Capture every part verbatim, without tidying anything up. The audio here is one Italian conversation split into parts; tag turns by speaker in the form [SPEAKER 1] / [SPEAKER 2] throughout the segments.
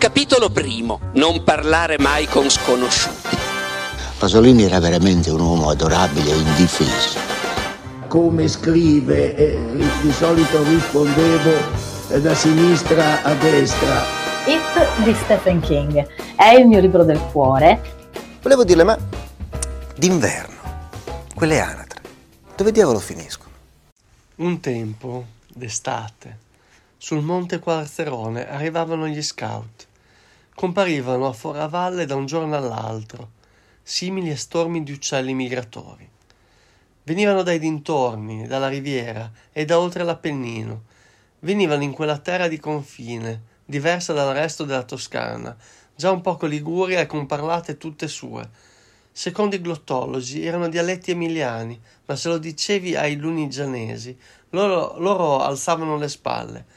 [SPEAKER 1] Capitolo primo. Non parlare mai con sconosciuti.
[SPEAKER 2] Pasolini era veramente un uomo adorabile e indifeso.
[SPEAKER 3] Come scrive, eh, di solito rispondevo eh, da sinistra a destra.
[SPEAKER 4] It di Stephen King è il mio libro del cuore.
[SPEAKER 5] Volevo dirle, ma d'inverno, quelle anatre, dove diavolo finiscono?
[SPEAKER 6] Un tempo, d'estate, sul monte Quarzerone arrivavano gli scout. Comparivano a Foravalle da un giorno all'altro, simili a stormi di uccelli migratori. Venivano dai dintorni, dalla riviera e da oltre l'Appennino. Venivano in quella terra di confine, diversa dal resto della Toscana, già un poco liguria e con parlate tutte sue. Secondo i glottologi erano dialetti emiliani, ma se lo dicevi ai lunigianesi, loro, loro alzavano le spalle.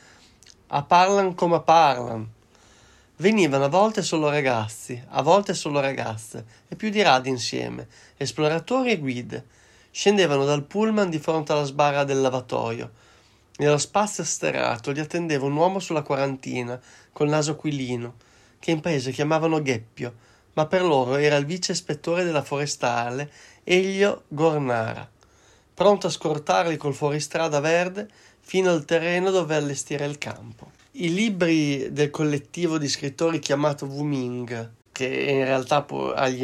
[SPEAKER 6] A parlan come parlan. Venivano a volte solo ragazzi, a volte solo ragazze, e più di radi insieme, esploratori e guide. Scendevano dal pullman di fronte alla sbarra del lavatoio. Nello spazio sterrato li attendeva un uomo sulla quarantina, col naso aquilino, che in paese chiamavano Gheppio, ma per loro era il vice ispettore della forestale, Elio Gornara, pronto a scortarli col fuoristrada verde fino al terreno dove allestire il campo. I libri del collettivo di scrittori chiamato Wuming, che in realtà agli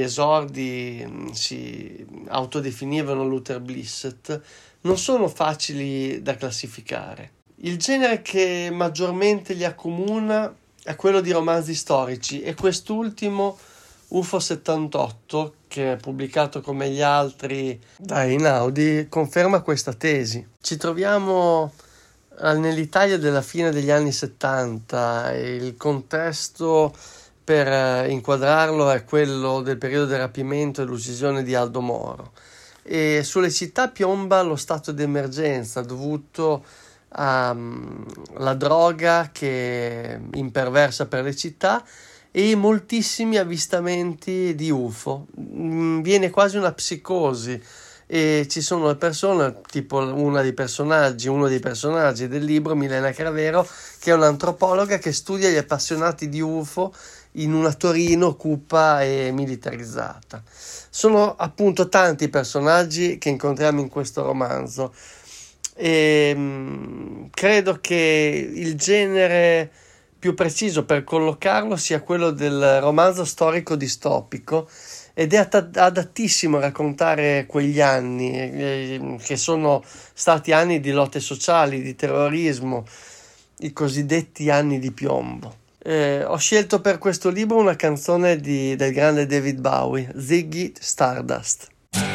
[SPEAKER 6] esordi si autodefinivano Luther Blissett, non sono facili da classificare. Il genere che maggiormente li accomuna è quello di romanzi storici e quest'ultimo, U F O settantotto, che è pubblicato come gli altri da Einaudi, conferma questa tesi. Ci troviamo nell'Italia della fine degli anni settanta e il contesto per inquadrarlo è quello del periodo del rapimento e l'uccisione di Aldo Moro, e sulle città piomba lo stato di emergenza dovuto alla droga che imperversa per le città e moltissimi avvistamenti di U F O. Viene quasi una psicosi e ci sono le persone, tipo una dei personaggi, uno dei personaggi del libro, Milena Cravero, che è un'antropologa che studia gli appassionati di U F O in una Torino cupa e militarizzata. Sono appunto tanti i personaggi che incontriamo in questo romanzo e mh, credo che il genere più preciso per collocarlo sia quello del romanzo storico distopico, ed è adattissimo a raccontare quegli anni eh, che sono stati anni di lotte sociali, di terrorismo, i cosiddetti anni di piombo. Eh, ho scelto per questo libro una canzone di, del grande David Bowie, Ziggy Stardust.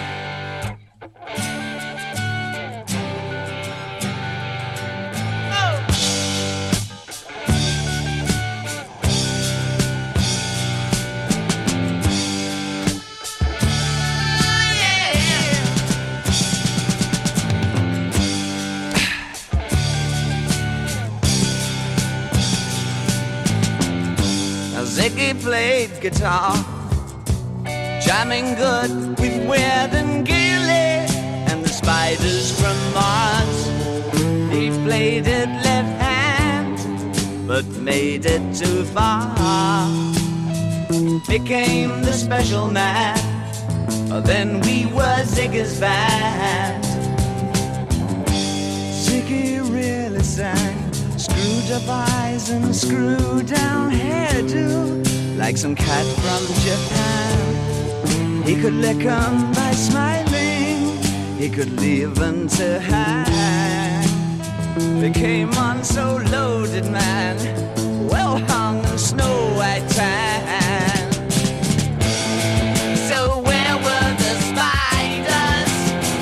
[SPEAKER 7] Ziggy played guitar, jamming good with Weird and Gilly and the Spiders from Mars. He played it left hand, but made it too far. Became the special man, then we were Ziggy's band. Ziggy really sang, screwed up eyes and screwed down hairdo, like some cat from Japan. He could lick 'em by smiling, he could leave 'em to hang. They came on so loaded, man, well hung in snow white tan. So where were the spiders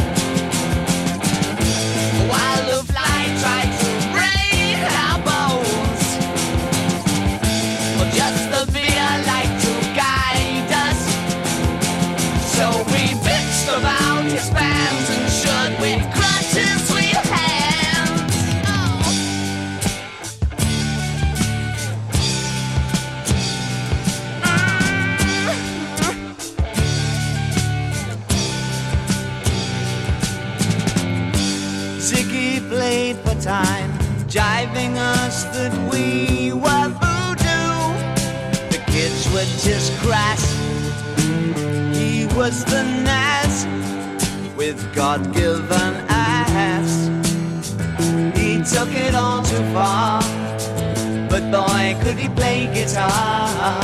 [SPEAKER 7] while the fly tried to break our bones? Well, just the fear like to guide us. So we bitched about his fans and should with crutches we hands. Oh. Ziggy played for time, jiving us that we were voodoo, was the Naz with God-given ass. He took it all too far, but boy, could he play guitar.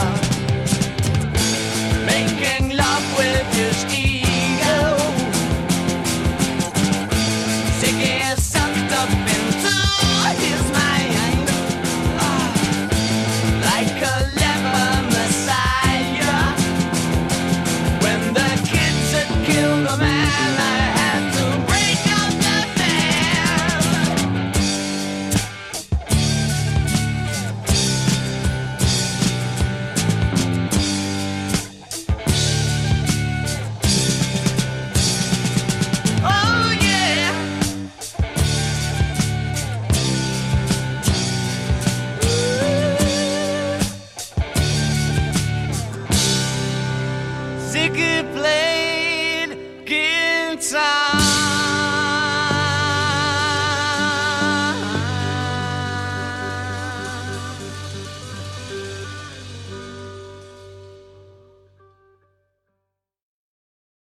[SPEAKER 7] Making love with his ego, Ziggy sucked up into his mind, ah, like a leper messiah. When the kids had killed a man, I had to break up the band. Oh yeah. Ziggy play